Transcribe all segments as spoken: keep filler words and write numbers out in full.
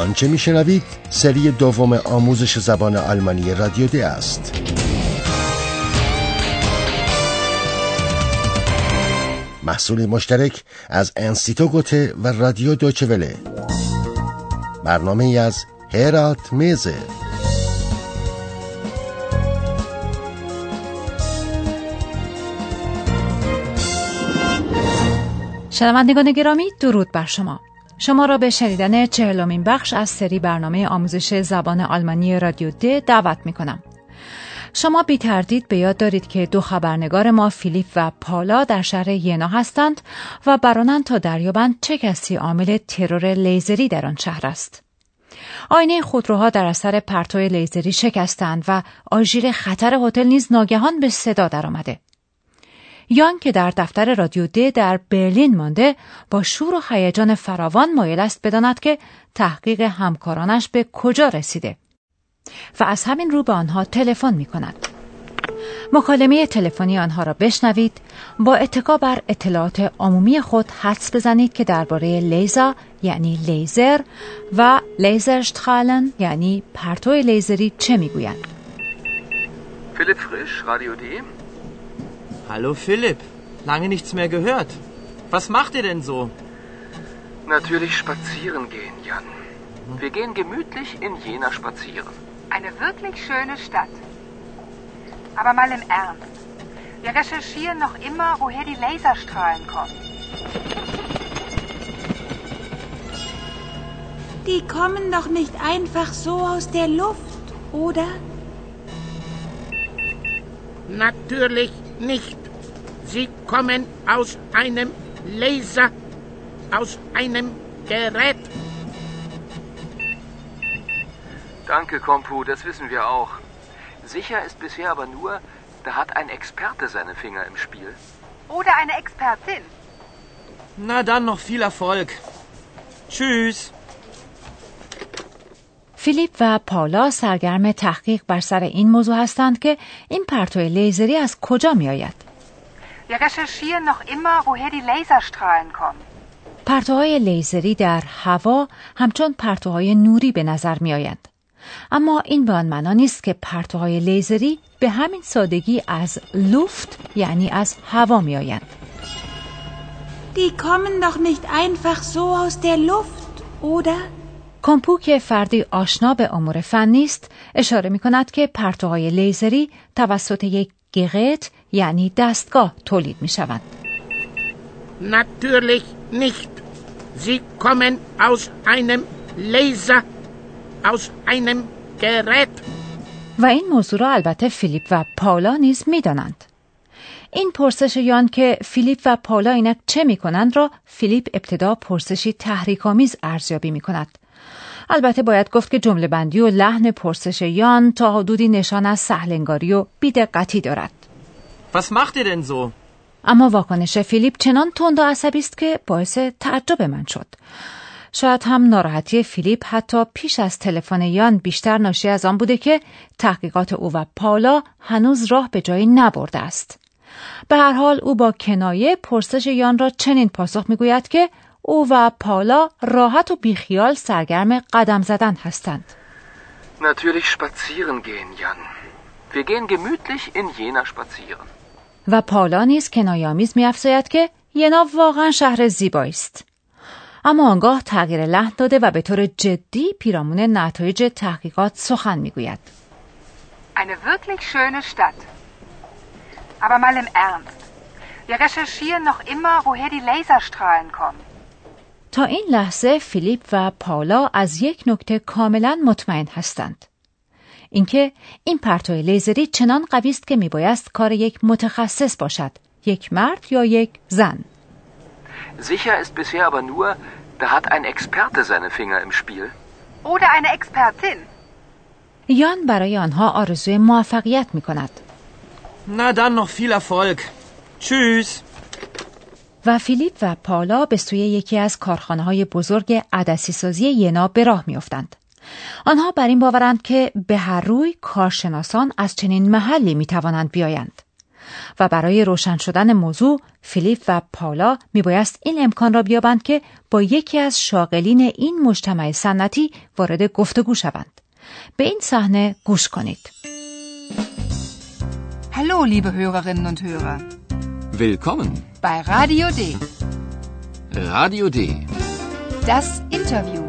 آنچه میشنوید سری دوم آموزش زبان آلمانی رادیو د است. محصول مشترک از انستیتو گوته و رادیو دویچه وله. برنامه ای از هرالد میزه. شنوندگان گرامی، درود بر شما. شما را به شنیدن چهلمین بخش از سری برنامه آموزش زبان آلمانی رادیو د دعوت می کنم. شما بی تردید به یاد دارید که دو خبرنگار ما فیلیپ و پالا در شهر ینا هستند و برانند تا دریابند چه کسی عامل ترور لیزری در آن شهر است. آینه خودروها در اثر پرتو لیزری شکستند و آژیر خطر هتل نیز ناگهان به صدا درآمده. یان که در دفتر رادیو د در برلین مانده با شور و هیجان فراوان مایل است بداند که تحقیق همکارانش به کجا رسیده و از همین رو به آنها تلفن می کند. مکالمه تلفنی آنها را بشنوید، با اتکا بر اطلاعات عمومی خود حدس بزنید که درباره لیزر یعنی لیزر و لیزرشترالن یعنی پرتو لیزری چه میگویند. Philipp Frisch, Radio D. Hallo Philipp, lange nichts mehr gehört. Was macht ihr denn so? Natürlich spazieren gehen, Jan. Wir gehen gemütlich in Jena spazieren. Eine wirklich schöne Stadt. Aber mal im Ernst. Wir recherchieren noch immer, woher die Laserstrahlen kommen. Die kommen doch nicht einfach so aus der Luft, oder? Natürlich nicht. Sie kommen aus einem Laser, aus einem Gerät. Danke, Kompu, das wissen wir auch. Sicher ist bisher aber nur, da hat ein Experte seine Finger im Spiel. Oder eine Expertin. Na dann noch viel Erfolg. Tschüss. فیلیپ و پالا سرگرم تحقیق بر سر این موضوع هستند که این پرتو لیزری از کجا می آید. Wir recherchieren noch immer, woher die Laserstrahlen kommen. پرتوهای لیزری در هوا همچون پرتوهای نوری به نظر می آیند. اما این به آن معنا نیست که پرتوهای لیزری به همین سادگی از لوفت یعنی از هوا می آیند. Die kommen doch nicht einfach so aus der Luft, oder? کامپو که فردی آشنا به امور فنی است اشاره می کند که پرتوهای لیزری توسط یک گرت یعنی دستگاه تولید می شوند. Natürlich nicht. Sie kommen aus einem Laser, aus einem Gerät. و این موضوع را البته فیلیپ و پالا نیز می دانند. این پرسش یان که فیلیپ و پالا اینک چه می کنند را فیلیپ ابتدا پرسشی تحریک‌آمیز ارزیابی می کند. البته باید گفت که جمله بندی و لحن پرسش یان تا حدودی نشان از سهلنگاری و بی‌دقتی دارد. Was macht ihr denn so? اما واکنش فیلیپ چنان تند و عصبی است که باعث تعجب من شد. شاید هم ناراحتی فیلیپ حتی پیش از تلفن یان بیشتر ناشی از آن بوده که تحقیقات او و پالا هنوز راه به جایی نبرده است. به هر حال او با کنایه پرسش یان را چنین پاسخ می‌گوید که او و پالا راحت و بیخیال سرگرم قدم زدن هستند. Natürlich spazieren gehen, Jan. Wir gehen gemütlich in Jena spazieren. و پالا نیز کنایه‌آمیز می‌افزاید که ینا واقعا شهر زیبایی است. اما آنگاه تغییر لحن داده و به طور جدی پیرامون نتایج تحقیقات سخن می‌گوید. Eine wirklich schöne Stadt. Aber mal im Ernst. Wir recherchieren noch immer, woher die Laserstrahlen kommen. تا این لحظه فیلیپ و پالا از یک نکته کاملا مطمئن هستند. اینکه این پرتو لیزری چنان قوی است که میبایست کار یک متخصص باشد، یک مرد یا یک زن. Sicher ist bisher aber nur, da hat ein Experte seine Finger im Spiel. Oder eine Expertin. یان برای آنها آرزوی موفقیت میکند. Na dann noch viel Erfolg. Tschüss. و فیلیپ و پالا به سوی یکی از کارخانه‌های بزرگ عدسی سازی ینا به راه می‌افتند. آنها بر این باورند که به هر روی کارشناسان از چنین محلی می‌توانند بیایند. و برای روشن شدن موضوع فیلیپ و پاولا میبایست این امکان را بیابند که با یکی از شاغلین این مجتمع سنتی وارد گفتگو شوند. به این صحنه گوش کنید. Hallo, liebe Hörerinnen und Hörer. Willkommen Bei Radio D. Radio D. Das Interview.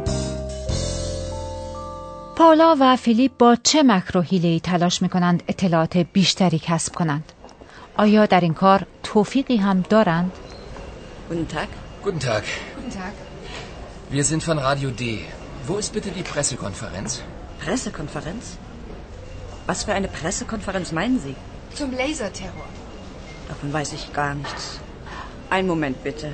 پاولا و فیلیپ با چه مکر و حیله‌ای تلاش می‌کنند اطلاعات بیشتری کسب کنند؟ آیا در این کار توفیقی هم دارند؟ Guten Tag. Guten Tag. Guten Tag. Wir sind von Radio D. Wo ist bitte die Pressekonferenz? Pressekonferenz? Was für eine Pressekonferenz meinen Sie? Zum Laserterror. Davon weiß ich gar nichts. Einen Moment bitte.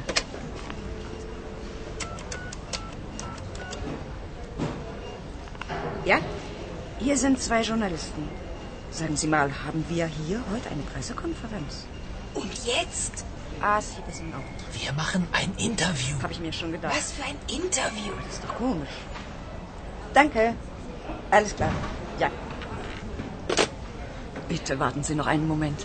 Ja, hier sind zwei Journalisten. Sagen Sie mal, haben wir hier heute eine Pressekonferenz? Und jetzt? Ah, sieht es Ihnen auch. Wir machen ein Interview. Habe ich mir schon gedacht. Was für ein Interview? Das ist doch komisch. Danke. Alles klar. Ja. Bitte warten Sie noch einen Moment.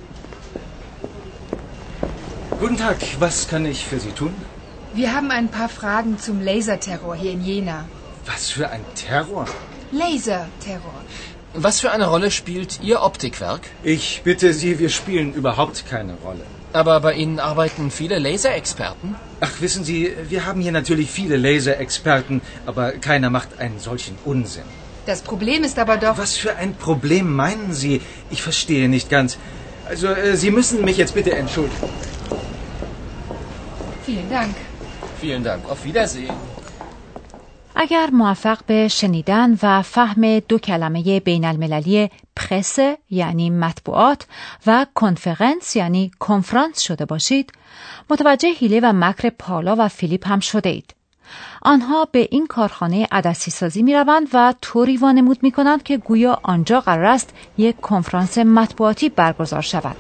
Guten Tag, was kann ich für Sie tun? Wir haben ein paar Fragen zum Laserterror hier in Jena. Was für ein Terror? Laserterror. Was für eine Rolle spielt Ihr Optikwerk? Ich bitte Sie, wir spielen überhaupt keine Rolle. Aber bei Ihnen arbeiten viele Laserexperten? Ach, wissen Sie, wir haben hier natürlich viele Laserexperten, aber keiner macht einen solchen Unsinn. Das Problem ist aber doch... Was für ein Problem meinen Sie? Ich verstehe nicht ganz. Also, äh, Sie müssen mich jetzt bitte entschuldigen. Vielen Dank. Vielen Dank. Auf Wiedersehen. اگر موفق به شنیدن و فهم دو کلمه بین المللی پرس یعنی مطبوعات و کنفرانس یعنی کنفرانس شده باشید، متوجه حیله و مکر پاولا و فیلیپ هم شده اید. آنها به این کارخانه عدسی سازی می روند و طوری وانمود می کنند که گویا آنجا قرار است یک کنفرانس مطبوعاتی برگزار شود.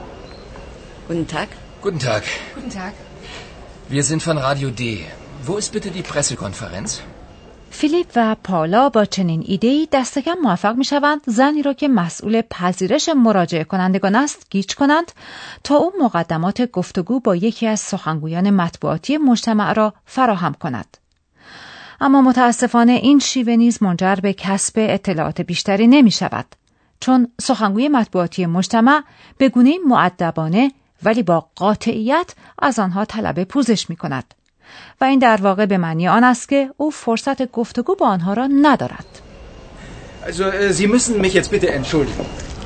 Guten Tag. Guten Tag. Guten Tag. Wir sind von Radio D. Wo ist bitte die Pressekonferenz? فیلیپ و پاولا با چنین ایده‌ای دست کم موفق می شوند زنی را که مسئول پذیرش مراجعه کنندگان است گیج کنند تا او مقدمات گفتگو با یکی از سخنگویان مطبوعاتی مجتمع را فراهم کند. اما متاسفانه این شیوه نیز منجر به کسب اطلاعات بیشتری نمی شود، چون سخنگوی مطبوعاتی مجتمع به گونه‌ای مؤدبانه ولی با قاطعیت از آنها طلب پوزش می کند و این در واقع به معنی آن است که او فرصت گفتگو با آنها را ندارد. Also, äh, Sie müssen mich jetzt bitte entschuldigen.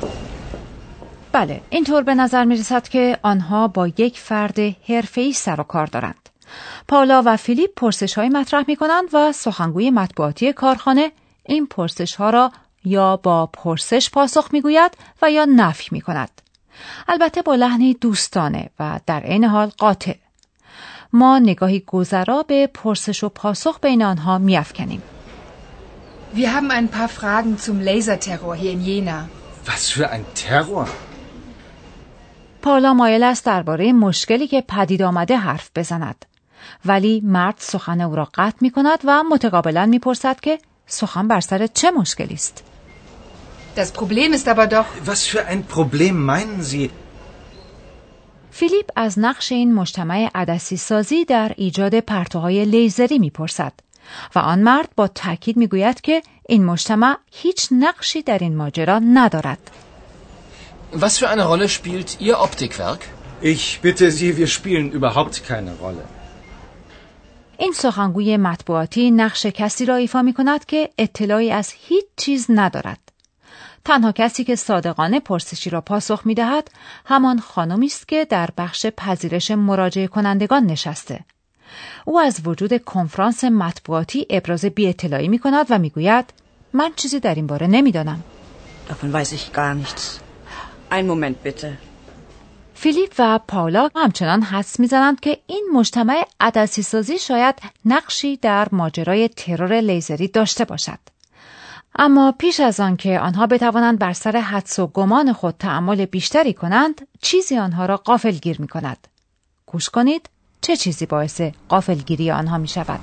بله، اینطور به نظر می رسد که آنها با یک فرد حرفه‌ای سر و کار دارند. پاولا و فیلیپ پرسش‌های مطرح می کنند و سخنگوی مطبوعاتی کارخانه این پرسش‌ها را یا با پرسش پاسخ می گوید و یا نفی می کند. البته با لحنی دوستانه و در عین حال قاطع. ما نگاهی گذرا به پرسش و پاسخ بین آنها می‌افکنیم. Wir haben ein paar Fragen zum Laserterror hier in Jena. Was für ein Terror? پاولا مایل است درباره مشکلی که پدید آمده حرف بزند، ولی مرد سخن او را قطع می‌کند و متقابلاً می‌پرسد که سخن بر سر چه مشکلی است. Das Problem ist aber doch... Was für ein Problem meinen Sie? فیلیپ از نقش این مجتمع عدسی سازی در ایجاد پرتوهای لیزری میپرسد و آن مرد با تأکید میگوید که این مجتمع هیچ نقشی در این ماجرا ندارد. Was für eine Rolle spielt Ihr Optikwerk? Ich bitte Sie, wir spielen überhaupt keine Rolle. این سخنگوی مطبوعاتی نقش کسی را ایفا میکند که اطلاعی از هیچ چیز ندارد. تنها کسی که صادقانه پرسشی را پاسخ می‌دهد همان خانمی است که در بخش پذیرش مراجعه کنندگان نشسته. او از وجود کنفرانس مطبوعاتی ابراز بی‌اطلاعی می‌کند و می‌گوید من چیزی در این باره نمی‌دانم. Davon weiß ich gar nichts. Einen Moment bitte. فیلیپ و پاولا همچنان حدس می‌زنند که این مجتمع عدسی سازی شاید نقشی در ماجرای ترور لیزری داشته باشد. اما پیش از آن که آنها بتوانند بر سر حدس و گمان خود تأمل بیشتری کنند، چیزی آنها را غافلگیر می کند. گوش کنید چه چیزی باعث غافلگیری آنها می شود.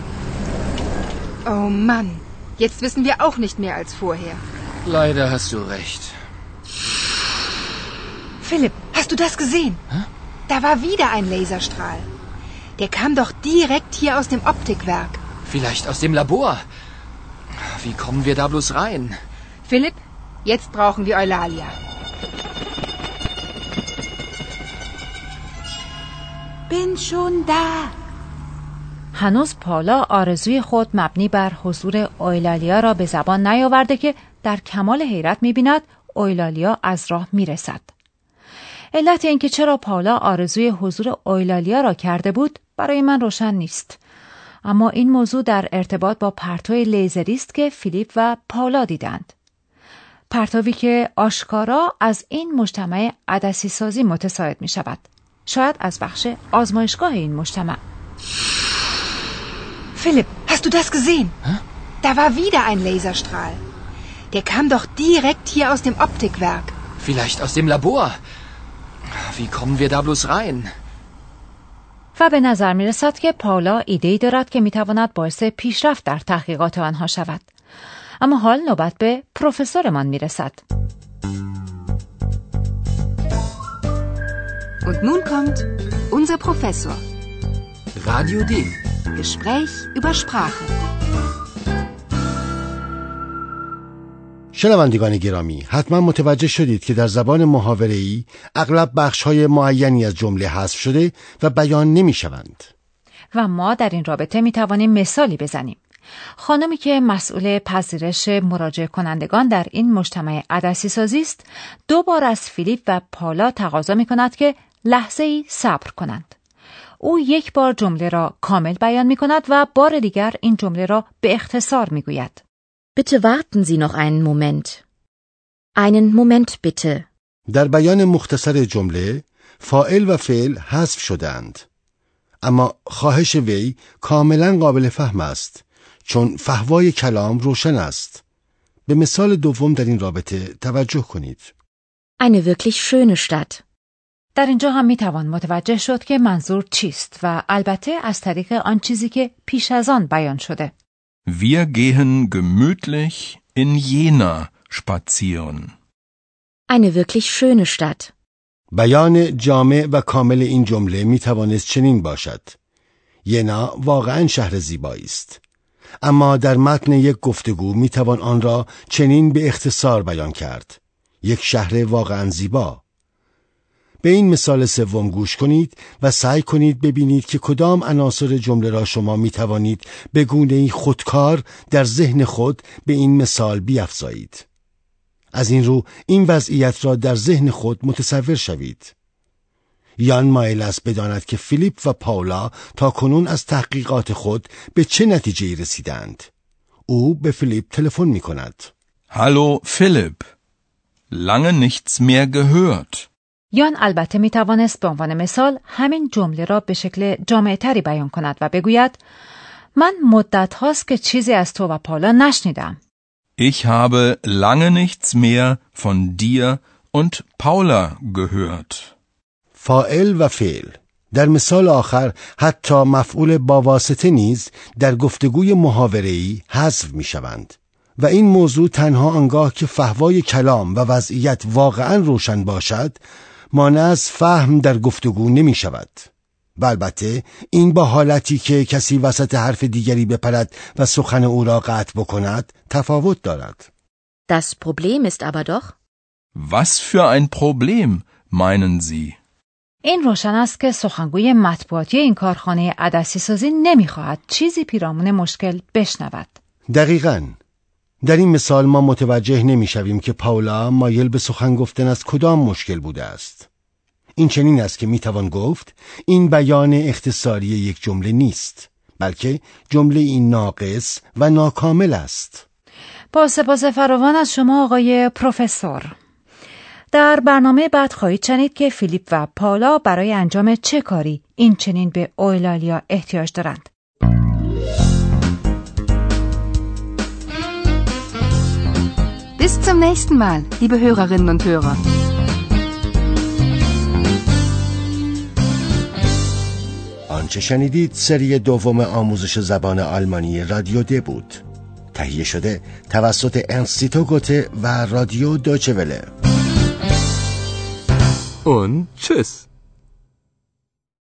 Oh Mann, jetzt wissen wir auch nicht mehr als vorher. Leider hast du recht. Philipp, hast du das gesehen? Hä? Da war wieder ein Laserstrahl. Der kam doch direkt hier aus dem Optikwerk. Vielleicht aus dem Labor. Wie kommen wir da bloß rein? Philipp, jetzt brauchen wir Eulalia. Bin schon da. هنوز پالا آرزوی خود مبنی بر حضور اویلالیا را به زبان نیاورده که در کمال حیرت می‌بیند اویلالیا از راه می‌رسد. علت اینکه چرا پالا آرزوی حضور اویلالیا را کرده بود برای من روشن نیست. اما این موضوع در ارتباط با پرتوی لیزری است که فیلیپ و پالا دیدند. پرتوی که آشکارا از این مجتمع عدسی سازی متساعد می شود. شاید از بخش آزمایشگاه این مجتمع. Philipp, hast du das gesehen? Hä? Da war wieder ein Laserstrahl. Der kam doch direkt hier aus dem Optikwerk. Vielleicht aus dem Labor. Wie kommen wir da bloß rein? و به نظر می رسد که پاولا ایده‌ای دارد که می تواند باعث پیشرفت در تحقیقات آنها شود. اما حال نوبت به پروفسورمان می رسد. Und nun kommt unser Professor. Radio D. Gespräch über Sprache. شنوندگان گرامی، حتما متوجه شدید که در زبان محاوره‌ای اغلب بخش‌های معینی از جمله حذف شده و بیان نمی‌شوند. و ما در این رابطه می‌توانیم مثالی بزنیم. خانمی که مسئول پذیرش مراجعه کنندگان در این مجتمع عدسی سازی است، دو بار از فیلیپ و پالا تقاضا می‌کند که لحظه‌ای صبر کنند. او یک بار جمله را کامل بیان می‌کند و بار دیگر این جمله را به اختصار می‌گوید. Bitte warten Sie noch einen Moment. Einen Moment bitte. در بیان مختصر جمله فاعل و فعل حذف شدند، اما خواهش وی کاملا قابل فهم است چون فحوای کلام روشن است. به مثال دوم در این رابطه توجه کنید. Eine wirklich schöne Stadt. در اینجا هم میتوان متوجه شد که منظور چیست و البته از طریق آن چیزی که پیش از آن بیان شده. Wir gehen gemütlich in Jena spazieren. Eine wirklich schöne Stadt. بیان جامع و کامل این جمله می توانست چنین باشد: ینا واقعا شهر زیبایی است. اما در متن یک گفتگو می توان آن را چنین به اختصار بیان کرد: یک شهر واقعا زیبا. به این مثال سوم گوش کنید و سعی کنید ببینید که کدام عناصر جمله را شما می توانید به گونه‌ای خودکار در ذهن خود به این مثال بیفزایید. از این رو این وضعیت را در ذهن خود متصور شوید. یان مایل است بداند که فیلیپ و پاولا تا کنون از تحقیقات خود به چه نتیجه‌ای رسیدند. او به فیلیپ تلفن می کند. Hallo Philipp. Lange nichts mehr gehört. یان البته می توانست به عنوان مثال همین جمله را به شکل جامع‌تری بیان کند و بگوید: من مدت هاست که چیزی از تو و پاولا نشنیدم. Ich habe lange nichts mehr von dir und Paula gehört. فاعل و فعل. در مثال آخر حتی مفعول با واسطه نیز در گفتگوی محاوره‌ای حذف می شوند. و این موضوع تنها آنگاه که فحوای کلام و وضعیت واقعا روشن باشد مانع از فهم در گفتگو نمی شود. و البته این با حالتی که کسی وسط حرف دیگری بپرد و سخن او را قطع بکند تفاوت دارد. Das Problem ist aber doch. Was für ein Problem meinen Sie? این روشن است که سخنگوی مطبوعاتی این کارخانه عدسی سازی نمیخواهد چیزی پیرامون مشکل بشنود. دقیقاً. در این مثال ما متوجه نمیشویم که پاولا مایل به سخن گفتن از کدام مشکل بوده است. این چنین است که میتوان گفت این بیان اختصاری یک جمله نیست، بلکه جمله این ناقص و ناکامل است. با سپاس فراوان از شما آقای پروفسور. در برنامه بعد خواهید شنید که فیلیپ و پاولا برای انجام چه کاری این چنین به اویلالیا احتیاج دارند. Bis zum nächsten Mal, liebe Hörerinnen und Hörer. آنچه شنیدید سری دوم آموزش زبان آلمانی رادیو د بود. تهیه شده توسط انستیتو گوته و رادیو دویچه وله. und tschüss.